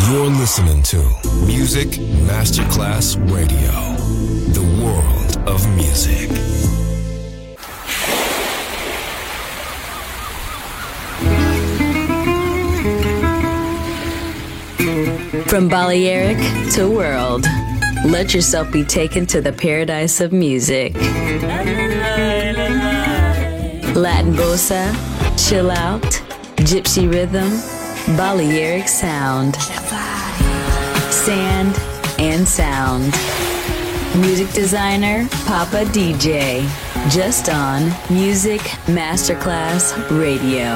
You're listening to Music Masterclass Radio, the world of music. From Balearic to world, let yourself be taken to the paradise of music. Latin bossa, chill out, gypsy rhythm, Balearic sound, sand and sound. Music designer, Papa DJ, just on Music Masterclass Radio.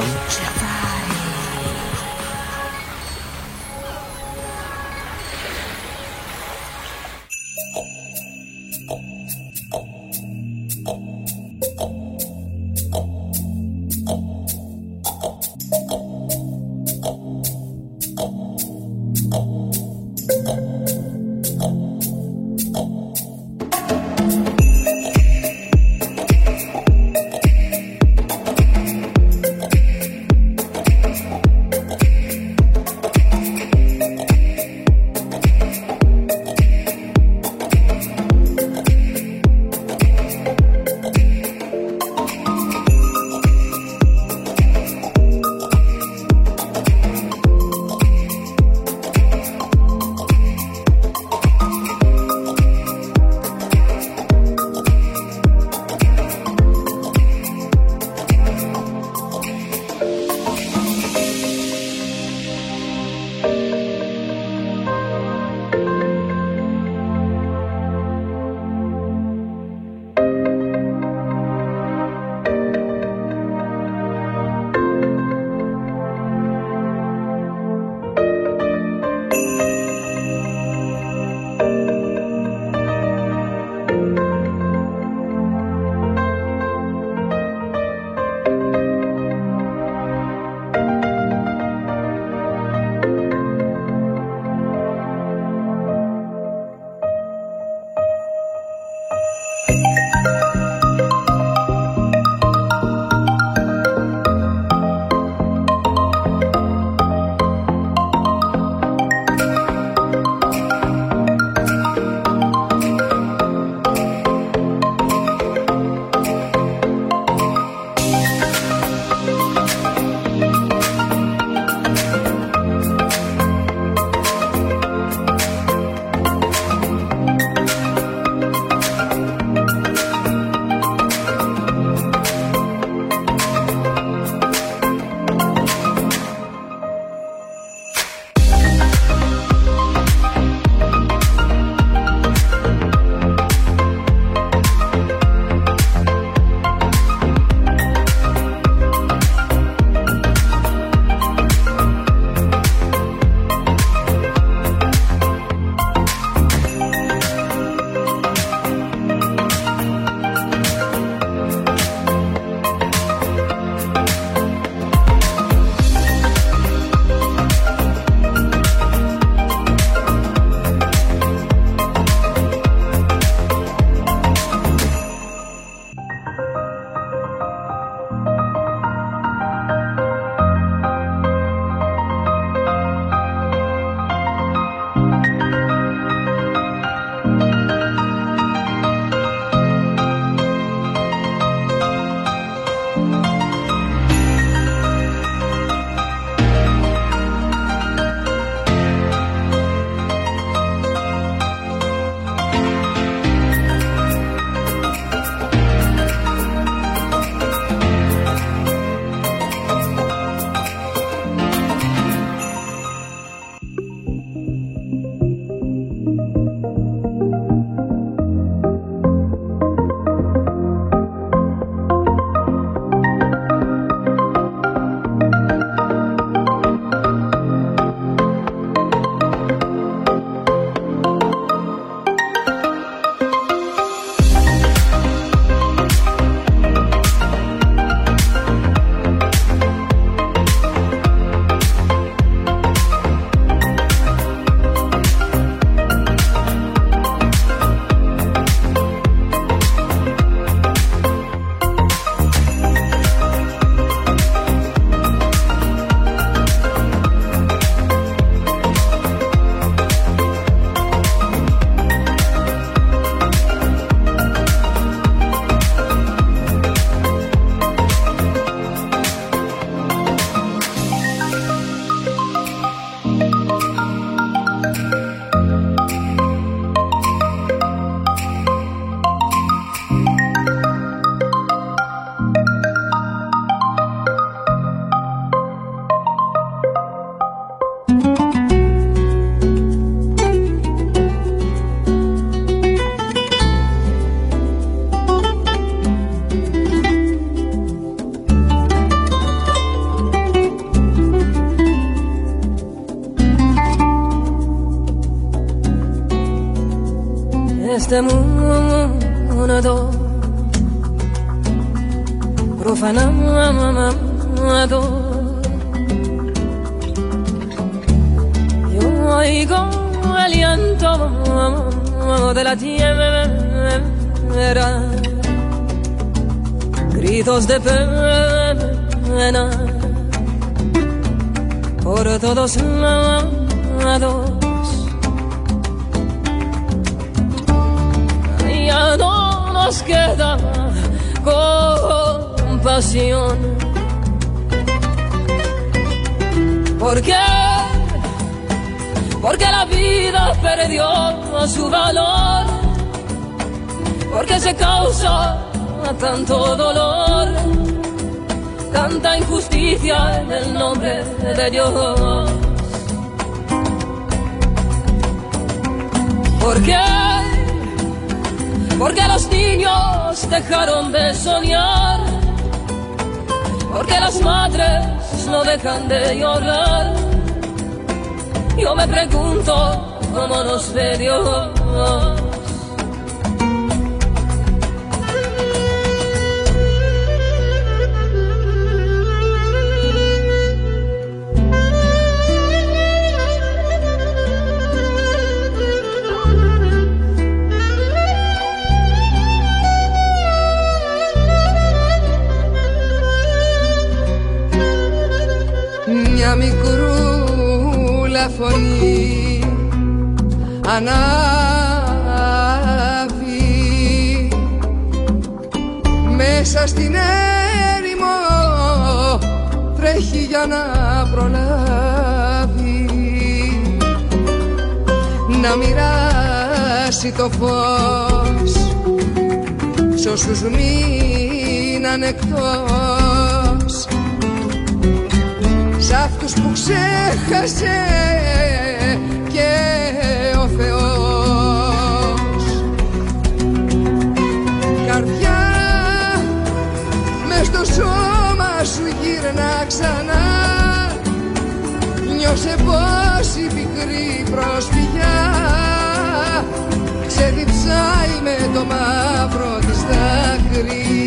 este mundo profanado. Yo oigo el aliento de la tierra, gritos de pena por todos lados. Ya no nos queda compasión. ¿Por qué? Porque la vida perdió su valor, porque se causa tanto dolor, tanta injusticia en el nombre de Dios. ¿Por qué? Porque los niños dejaron de soñar, porque las madres no dejan de llorar. Yo me pregunto cómo nos ve Dios. Μια μικρούλα φωνή ανάβει μέσα στην έρημο, τρέχει για να προλάβει να μοιράσει το φως σ' όσους μείναν εκτός, σ' αυτούς που ξέχασε και ο Θεός. Καρδιά, μες στο σώμα σου γύρνα ξανά, νιώσε πως η πικρή προσφυγιά ξεδιψάει με το μαύρο της δάκρυ.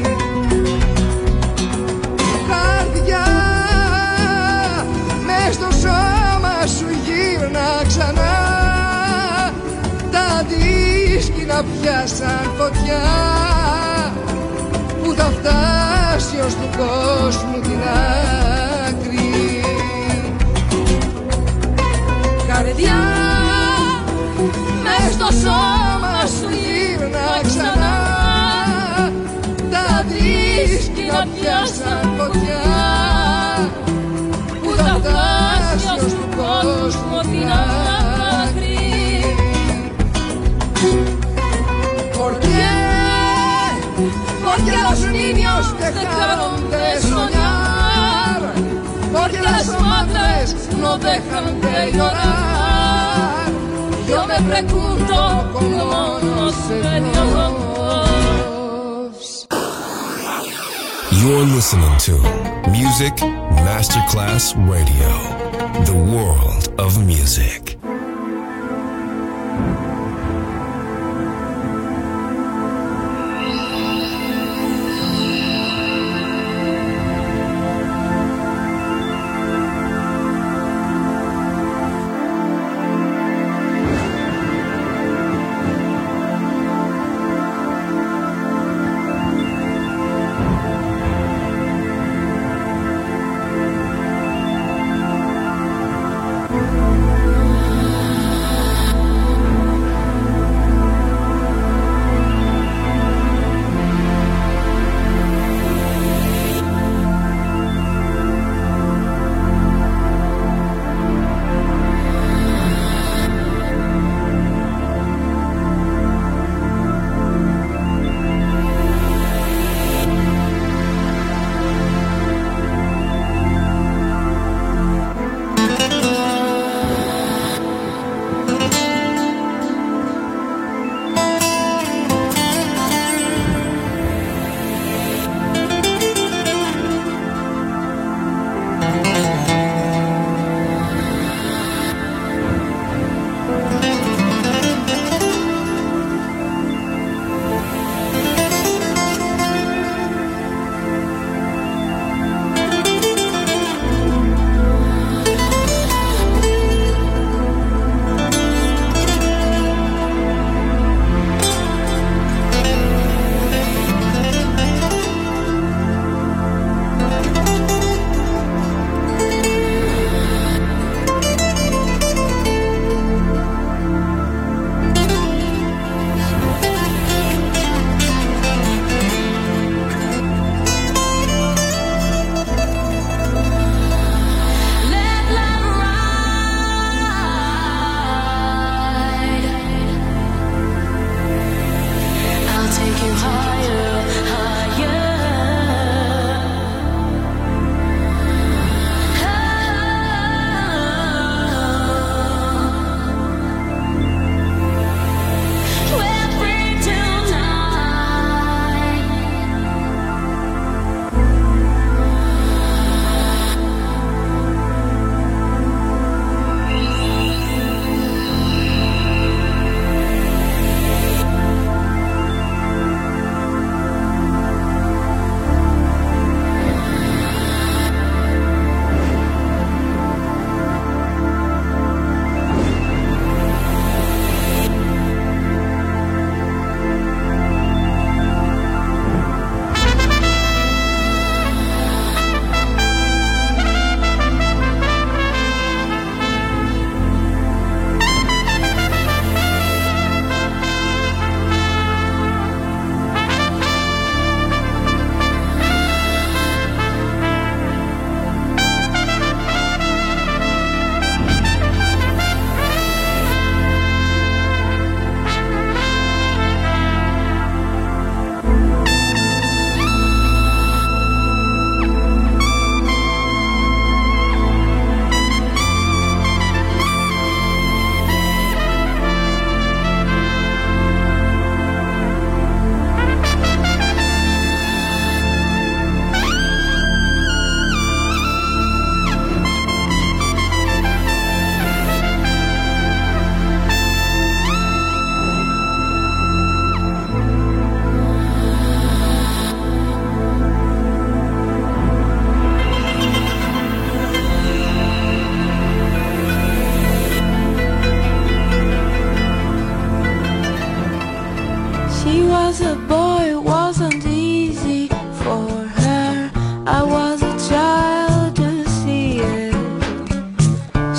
Στο σώμα σου γύρνα ξανά, τα αντίσκηνα πιάσαν φωτιά που θα φτάσει ως του κόσμου την άκρη. Καρδιά, μες στο σώμα σου γύρνα ξανά, τα αντίσκηνα πιάσαν φωτιά που θα φτάσει ως του κόσμου την άκρη. Porque los niños dejaron de soñar, porque las madres no dejan de llorar. Yo me pregunto cómo nos ve Dios. You're listening to Music Masterclass Radio, the world of music.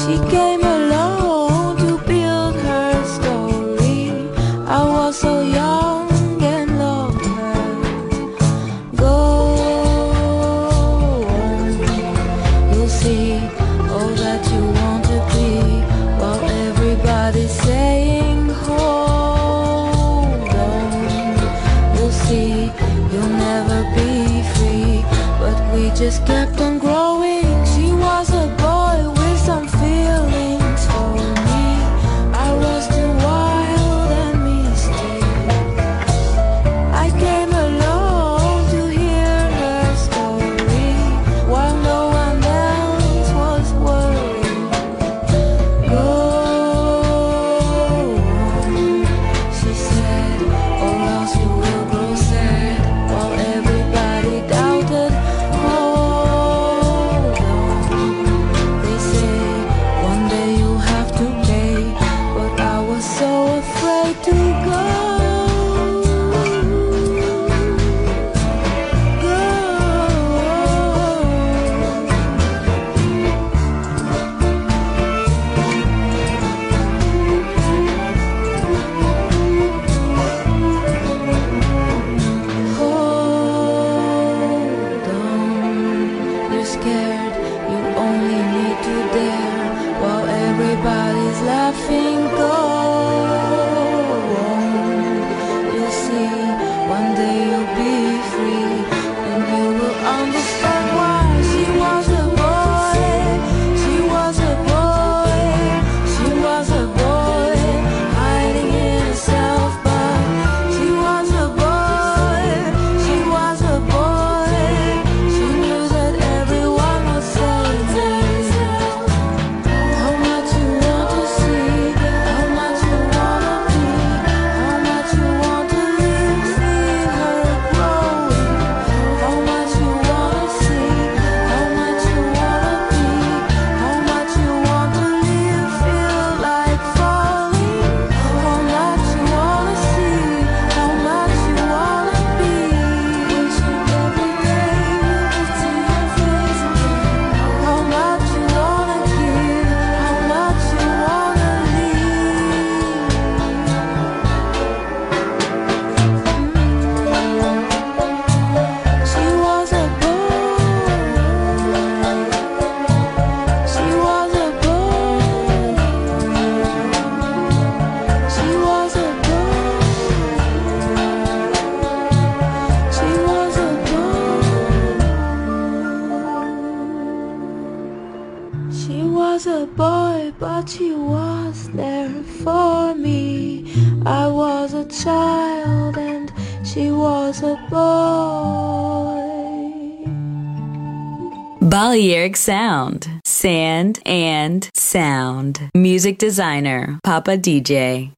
She came along to build her story. I was so young and loved her. Go on, you'll see all that you want to be, while everybody's saying hold on. You'll see you'll never be free, but we just kept on growing. She was a boy with some feelings for me. I was too wild and mystic. I came along to hear her story, while no one else was worried. Go on, she said, or else you will grow sad, while everybody doubted. Hold on, they say one day you'll have to pay, but I was so afraid to go. Hold on, you're scared, you only need to dare, while everybody's laughing. Go on, you'll see, one day you'll be free, and you will understand why. She was a boy, she was a boy, she was a boy, hiding in herself, but she was a boy, she was a boy, she knew that everyone was saying how much you want to see, how much you wanna be, how much you want to live, see her growing, how much you wanna see, how much you wanna be, how much you want to live, feel like falling, how much you wanna see, how much you wanna be, wishing every day you could see her face again, how much you wanna give, how much you wanna leave. She was a boy, she was a boy, she was a boy, she was a boy. She was a boy, but she was there for me. I was a child and she was a boy. Balearic Sound. Sand and sound. Music designer, Papa DJ.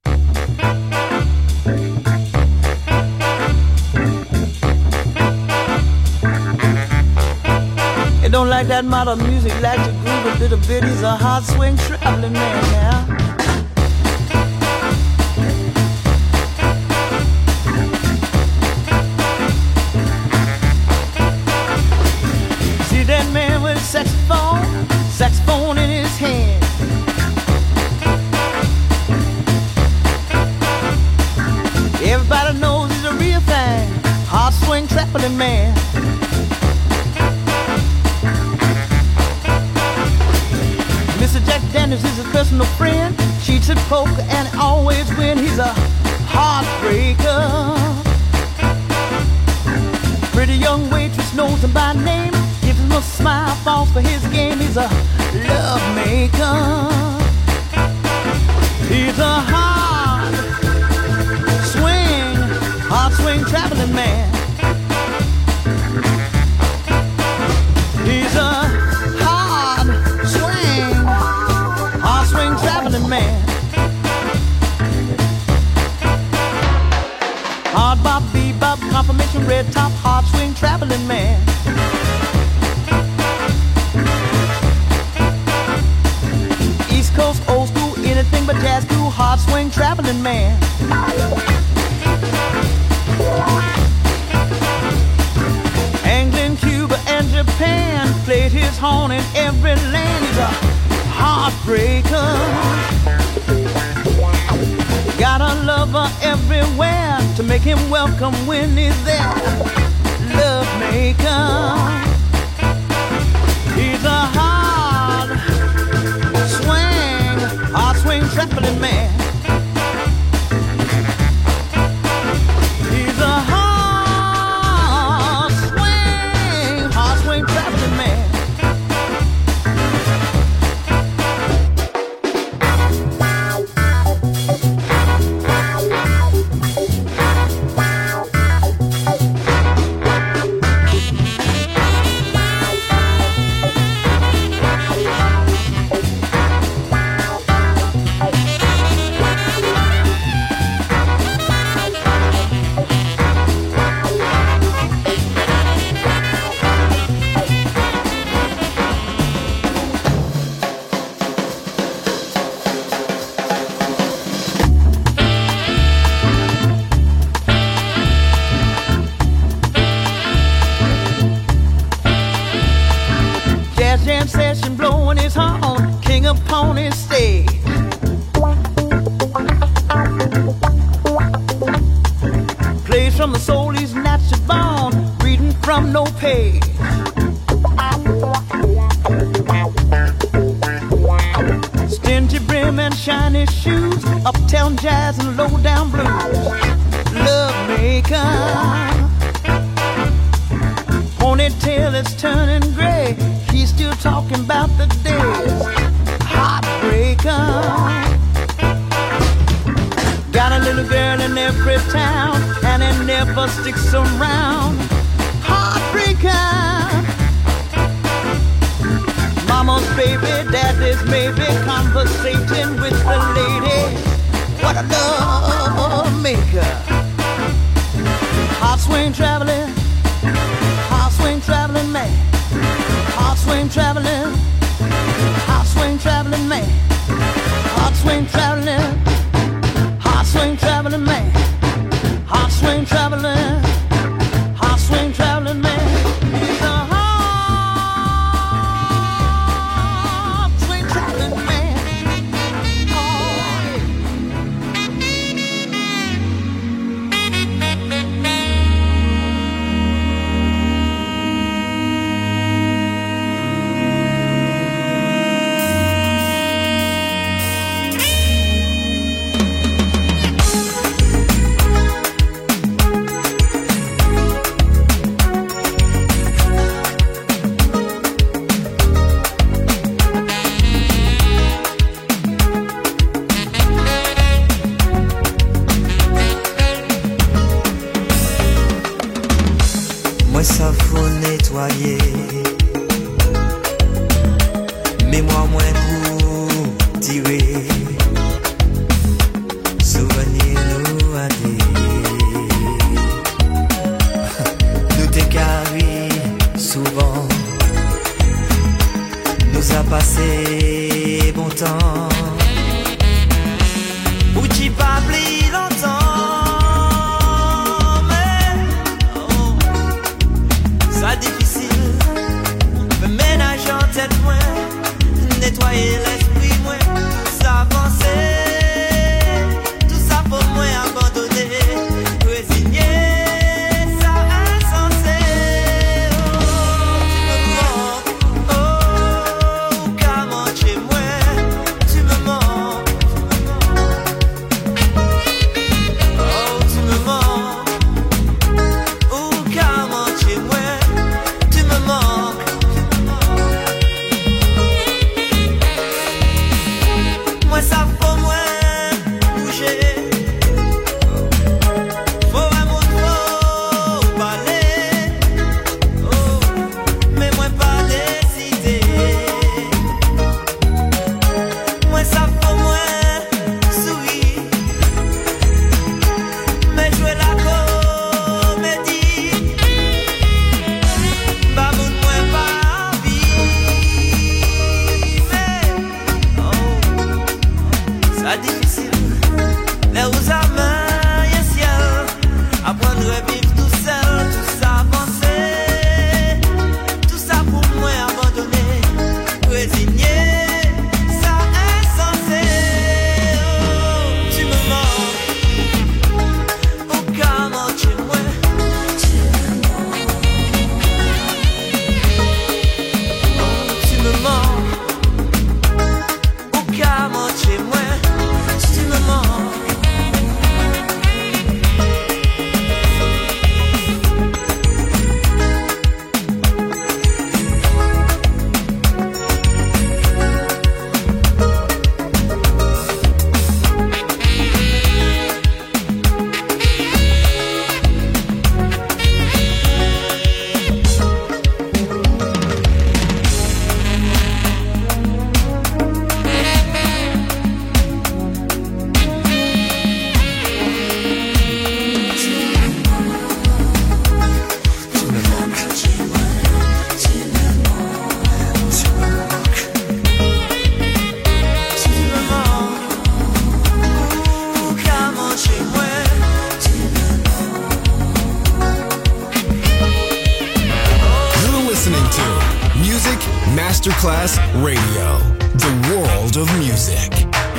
It don't like that modern music, like to groove a little bit. He's a hard swing traveling man now. See that man with saxophone in his hand. Everybody knows he's a real thing, hard swing traveling man. Mr. Jack Daniels is his personal friend. Cheats at poker and always win. He's a heartbreaker. Pretty young waitress knows him by name. Gives him a smile, falls for his game. He's a love maker. He's a hard swing traveling man. He's a hard swing traveling man. Hard bop, bebop, confirmation, red top, hard swing traveling man. East Coast, old school, anything but jazz, cool, hard swing traveling man. England, Cuba, and Japan played his horn in every land. He's a heartbreaker. heartbreaker. Got a lover everywhere to make him welcome when he's there. Love maker. He's a hard swing traveling man. He's a hard swing traveling man. Session blowing his horn, king upon his stage. Plays from the soul he's naturally born, reading from no page. Stingy brim and shiny shoes, uptown jazz and low down blues. Love maker. Ponytail is turning gray. He's still talking about the days. Heartbreaker. Got a little girl in every town, and it never sticks around. Heartbreaker. Mama's baby, daddy's maybe, conversating with the lady. What a love maker. Heart swing traveling man. Heart swing traveling man. Heart swing traveling man. Heart swing traveling man. He's a heart swing traveling man. Oh, Masterclass Radio, the world of music.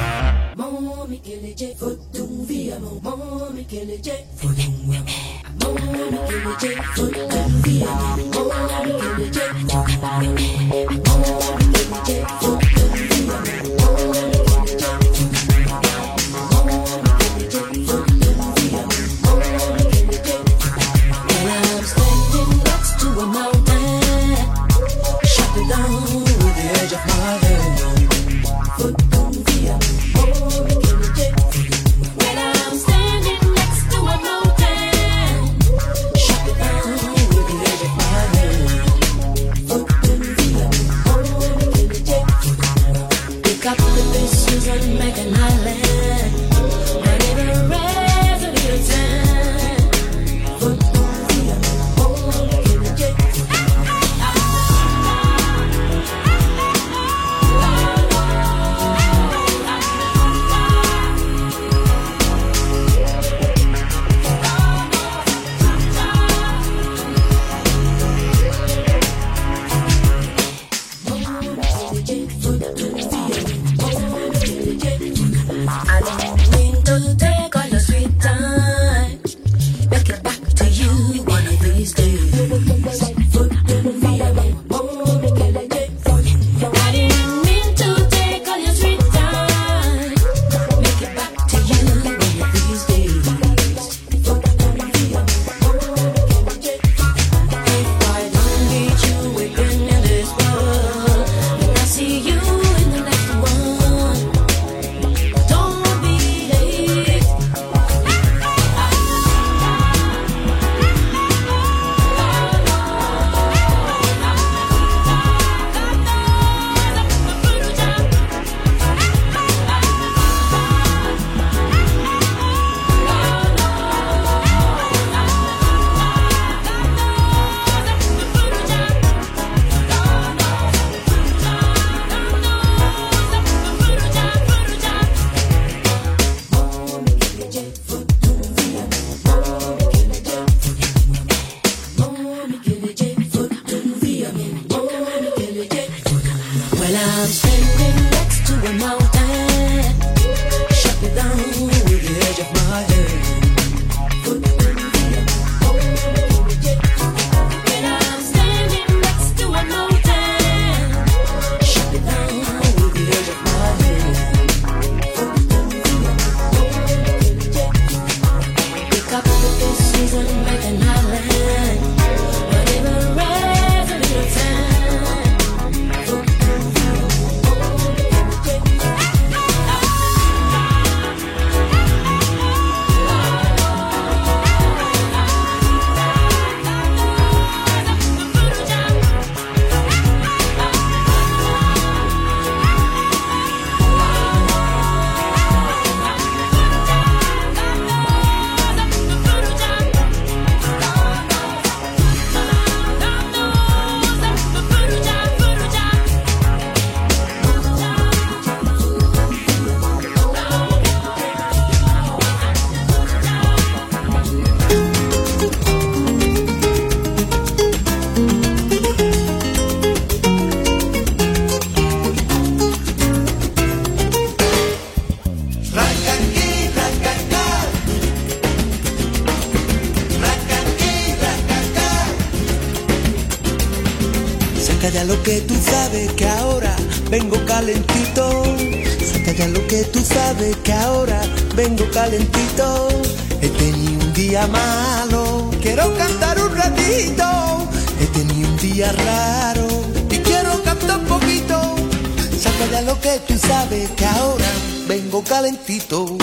ya lo que tú sabes que ahora vengo calentito. Saca ya lo que tú sabes que ahora vengo calentito. He tenido un día malo, quiero cantar un ratito. He tenido un día raro y quiero cantar un poquito. Saca ya lo que tú sabes que ahora vengo calentito.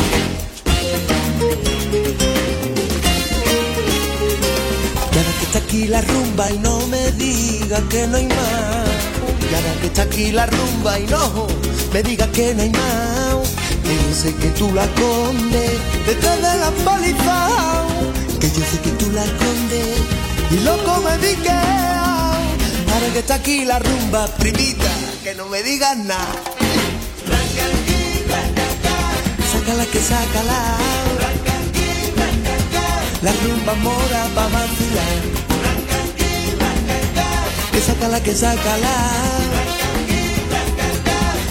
Y ahora que está aquí la rumba y no me diga que no hay más. Y ahora que está aquí la rumba y no me diga que no hay más. Que yo sé que tú la escondes detrás de la paliza. Que yo sé que tú la escondes y loco me dique. Ahora que está aquí la rumba, primita, que no me digas nada. Sácala que sácala. La rumba mora pa' vacilar. Que sácala, que sácala.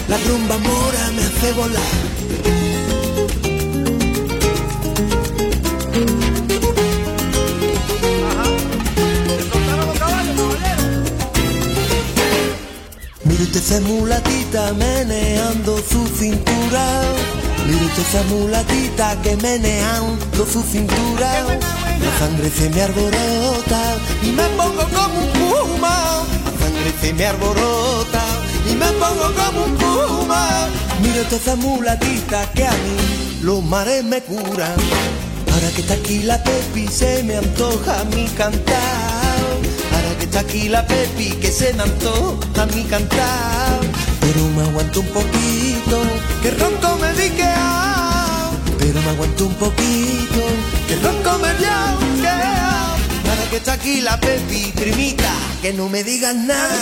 La rumba mora me hace volar. Mire usted esa mulatita meneando su cintura. Mire usted esa mulatita que meneando su cintura. La sangre se me alborota y me pongo como un puma. La sangre se me alborota y me pongo como un puma. Mire usted esa mulatita que a mí los mares me curan. Ahora que está aquí la Pepi se me antoja a mí cantar. Ahora que está aquí la Pepi que se me antoja a mí cantar. Pero me aguanto un poquito, que ronco me diquea. Pero me aguanto un poquito, que ronco me diquea. Ahora que está aquí la Pepi, primita, que no me digas nada.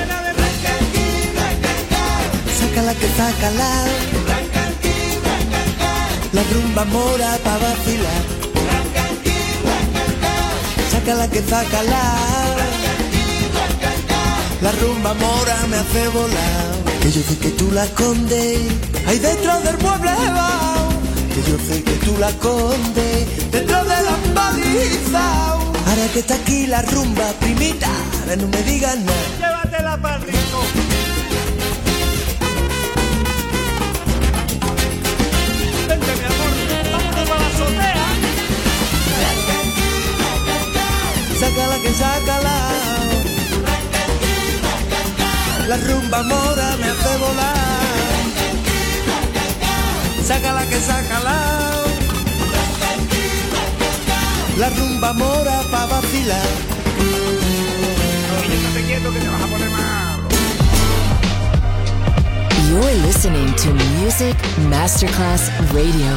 Sácala que sácala. La rumba mora pa' vacilar. Sácala que sácala. La rumba mora me hace volar. Que yo sé que tú la escondes ahí dentro del mueble. Que yo sé que tú la escondes dentro de las palizas. Ahora que está aquí la rumba, primita, no me digas nada. Llévatela pa'l rico. Vente, mi amor, vámonos a la azotea. Sácala que sácala. La rumba mora me hace volar. Sácala que sácala. La rumba mora pa' vacilar. Oye, estate quieto que te vas a poner malo. You're listening to Music Masterclass Radio.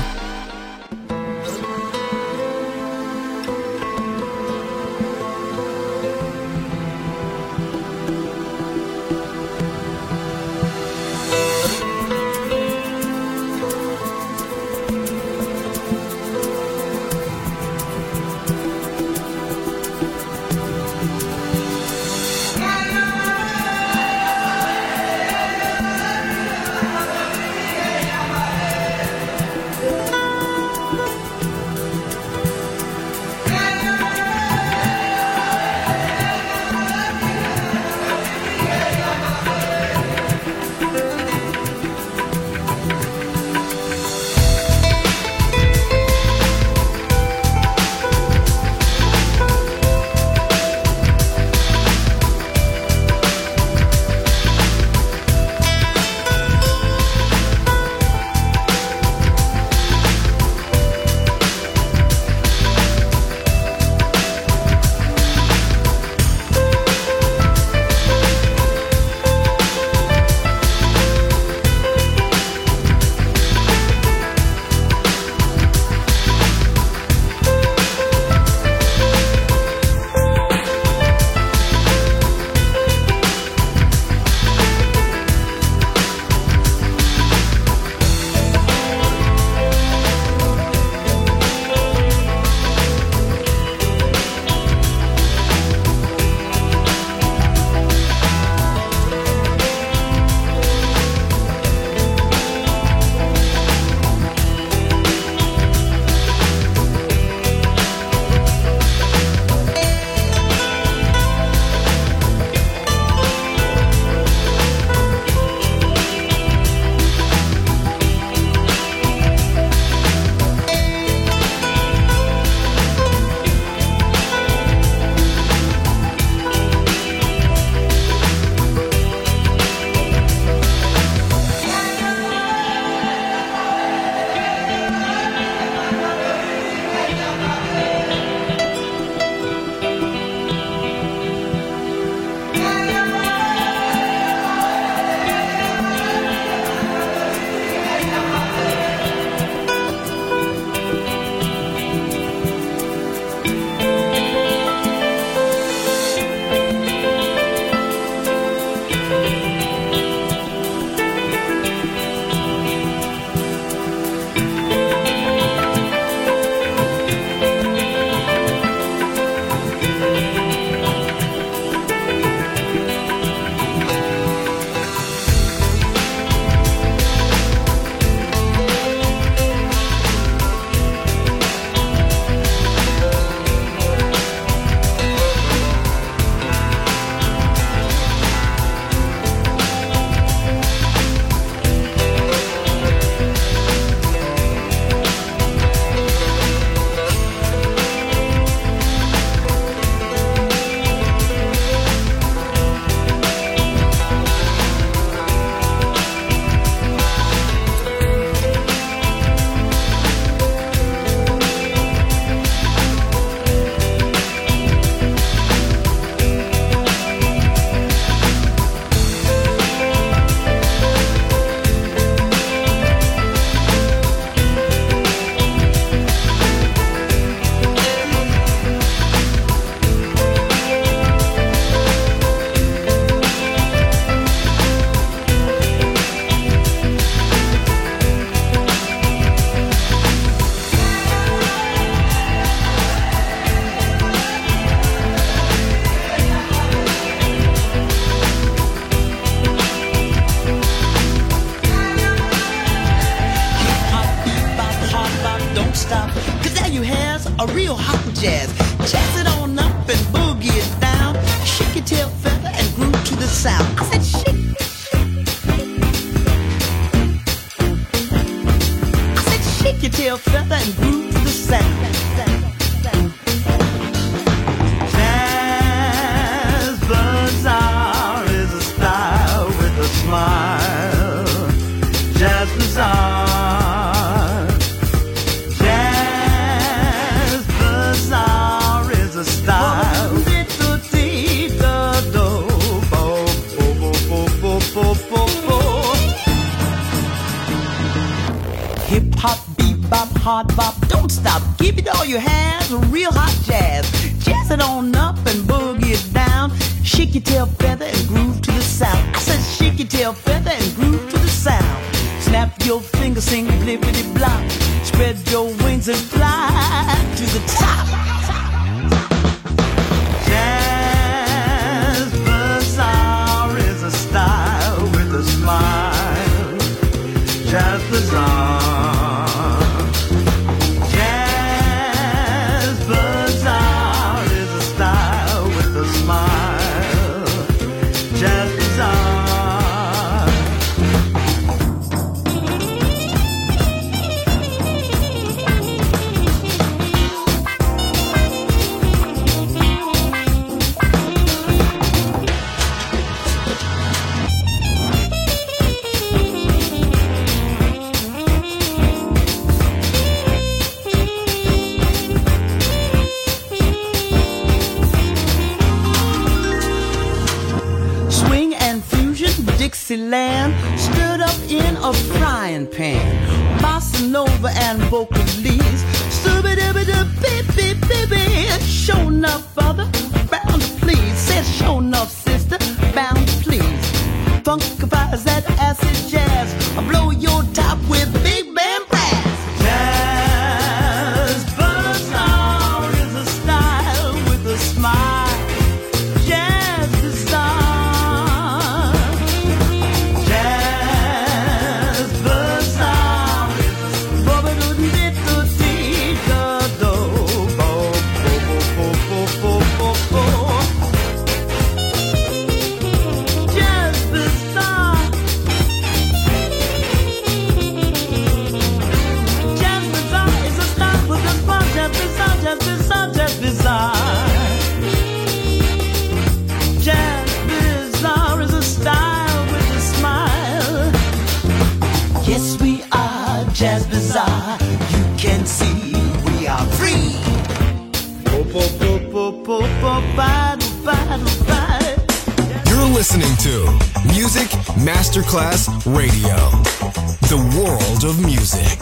real hot jazz. Jazz it on up and boogie it down. Shake your tail feather and groove to the sound. I said shake. I said shake your tail feather and groove to the sound. Jazz Bazaar is a style with a smile. Jazz Bazaar. Jazz Bazaar is a style. Hip hop, bebop, hard bop, don't stop. Give it all you have, real hot jazz. Jazz it on up and boogie it down. Shake your tail feather and groove to the sound. I said shake your tail feather and groove to the sound. Snap your fingers, sing blippity blop. Spread your wings and fly to the top. Jazz Bazaar is a style with a smile. Jazz Bazaar. Jazz Bazaar is a style with a smile. Jazz Bazaar. Dixieland stood up in a frying pan. Bossa Nova and vocalese. Stubby-dubby-dub-beep-beep-beep. Show enough, brother, bound to please. Said show enough, sister, bound to please. Funkifies that acid jazz. I'll blow your top with big band brass. Jazz Bazaar is a style with a smile. Jazz Bazaar. Jazz Bazaar, you can see we are free. You're listening to Music Masterclass Radio, the world of music.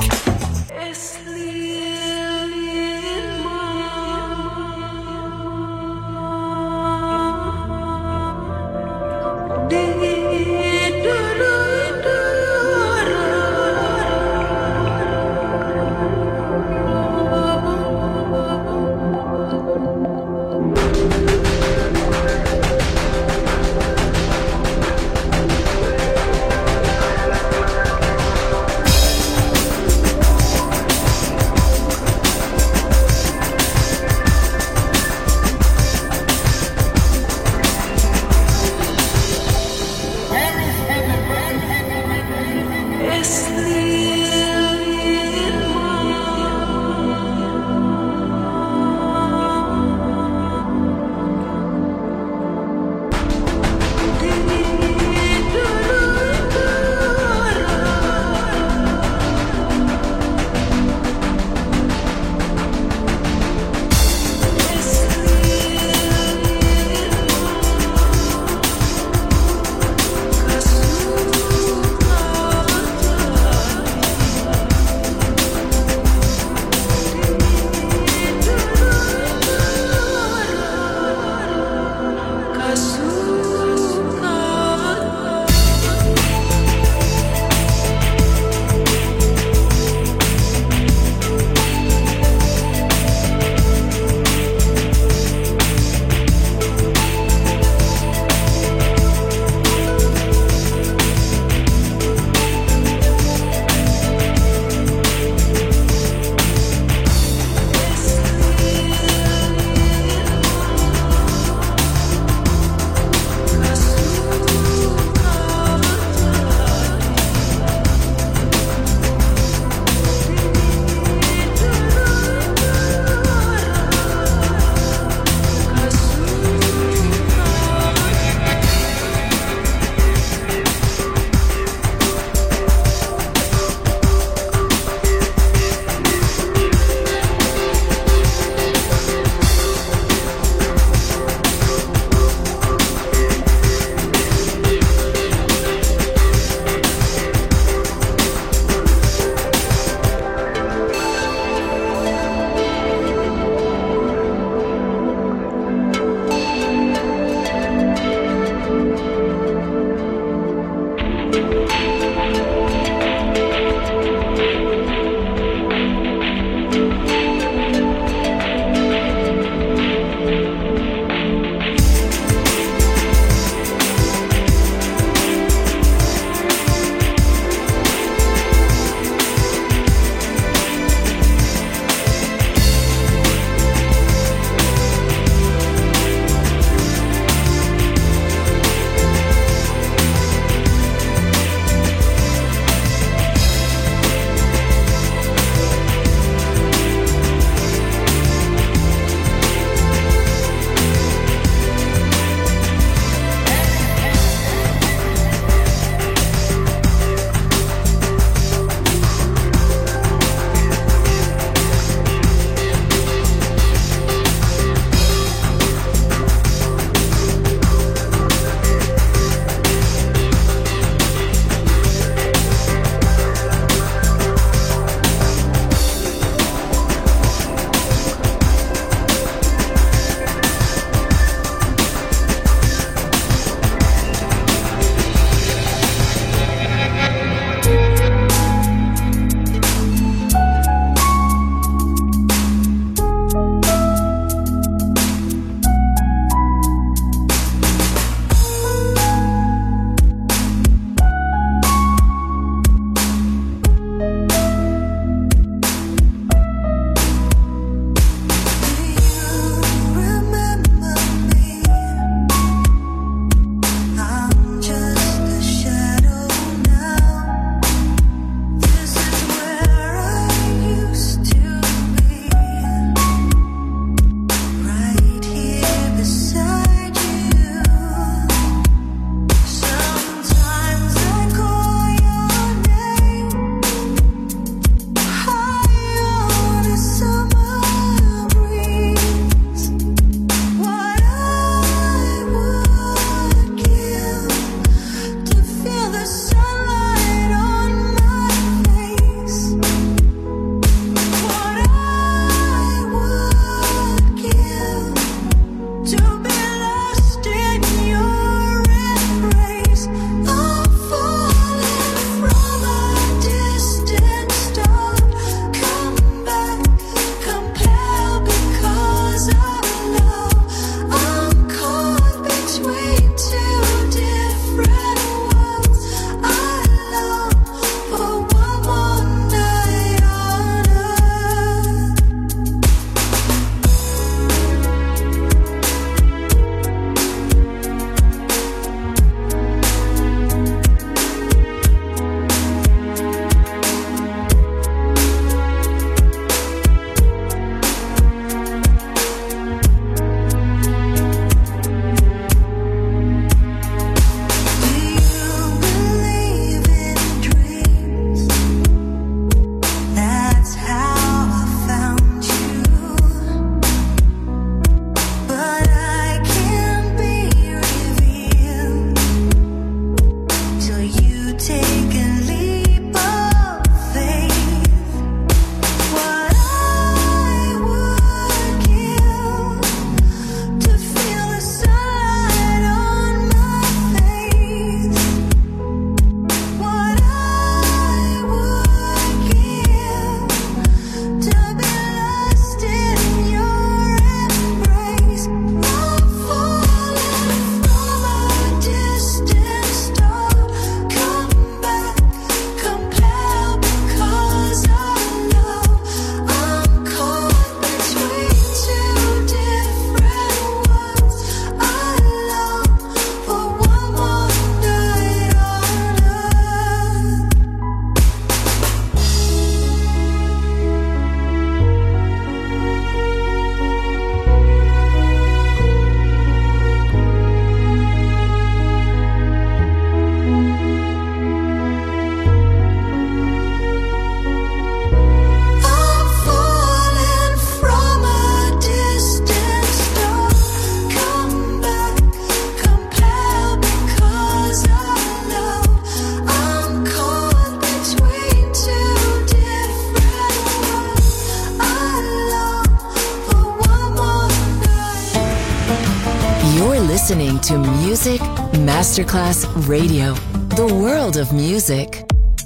listening to Music Masterclass Radio, the world of music.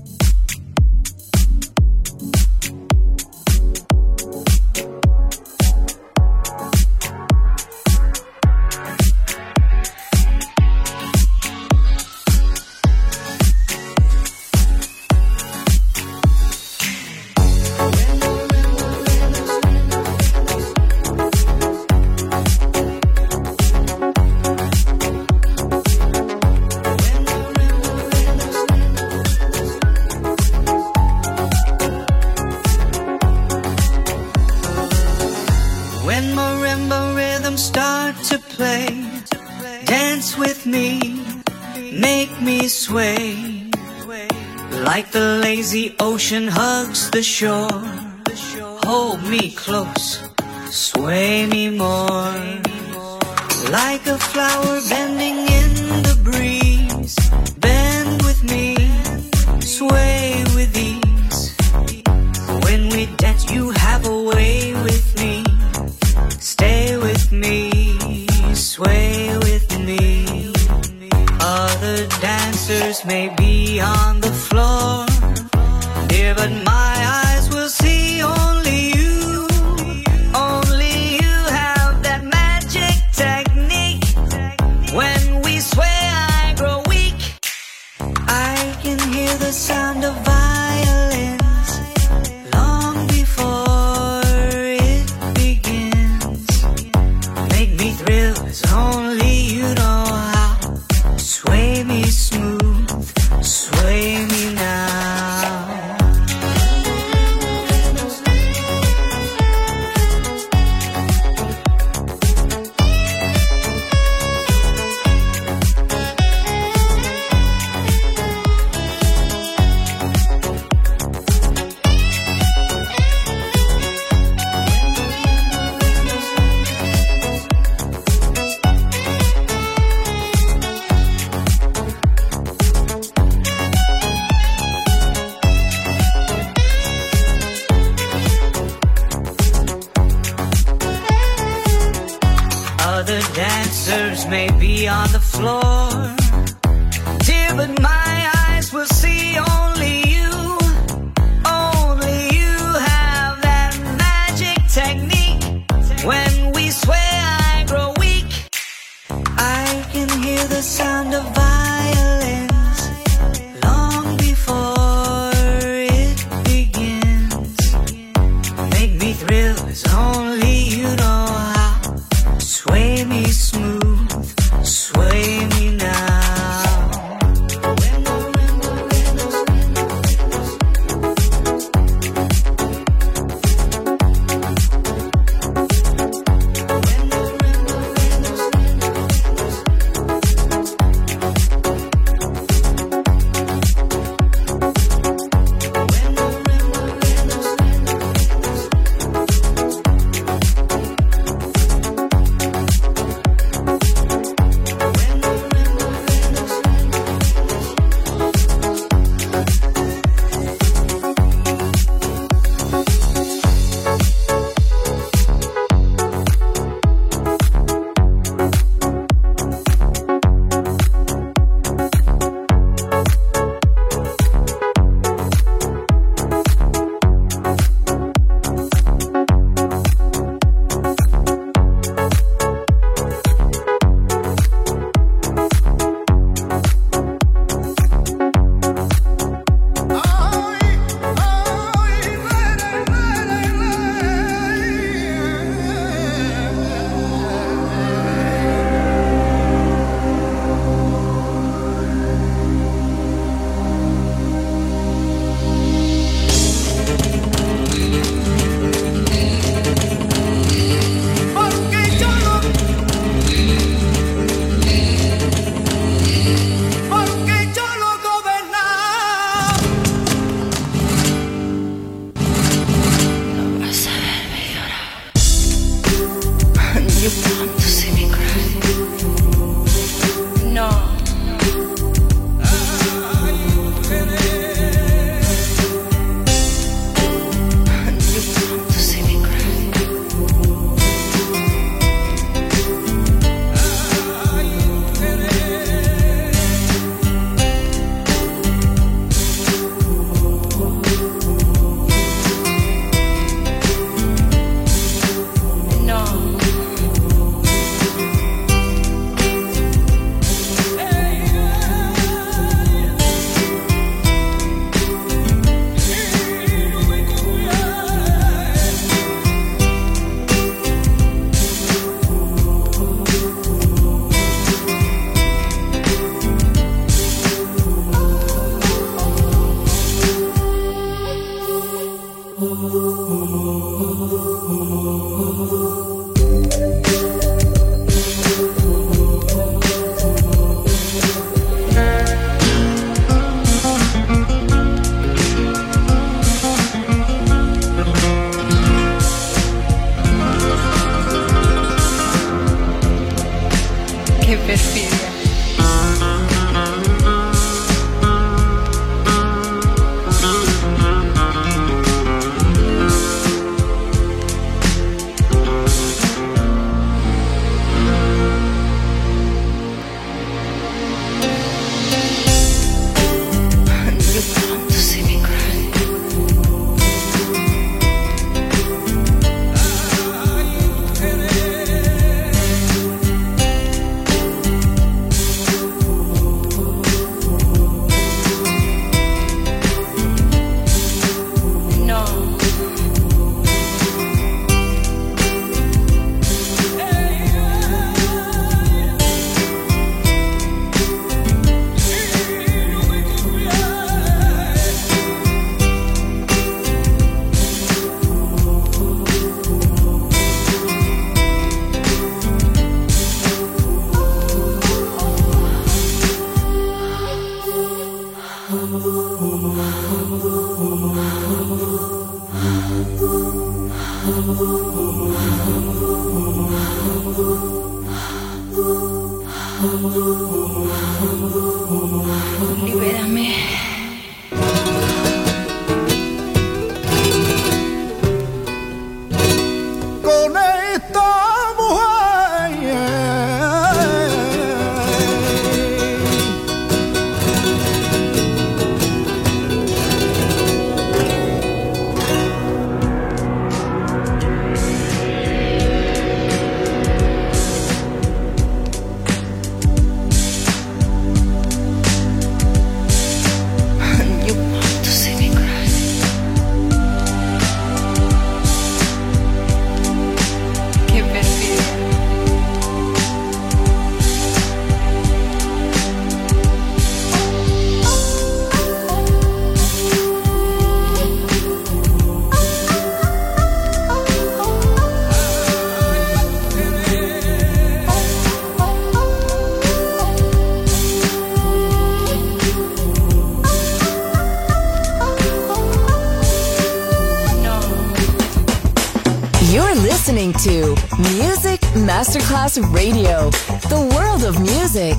Ocean hugs the shore. Hold me close, sway me more. Like a flower bending in the breeze. Bend with me, sway with ease. When we dance, you have a way with me. Stay with me, sway with me. Other dancers may be on the floor, dear, but my eyes will see only you. Only you have that magic technique. When we sway, I grow weak. I can hear the sound of violins long before it begins. Make me thrill as only you know how. Sway me smooth, sway me now. Other dancers may be on the floor, dear, but my eyes will see only you. Only you have that magic technique. When we sway, I grow weak. I can hear the sound of violins long before it begins. Make me thrill as only you know how. Sway me smooth, sway me now. Libérame. Con esta mujer You want to see me cry? Qué perfil. You're listening to Music Masterclass Radio, the world of music.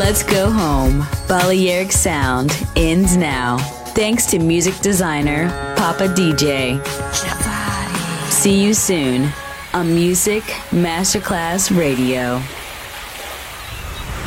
Let's go home. Balearic Sound ends now. Thanks to music designer Papa DJ. See you soon on Music Masterclass Radio.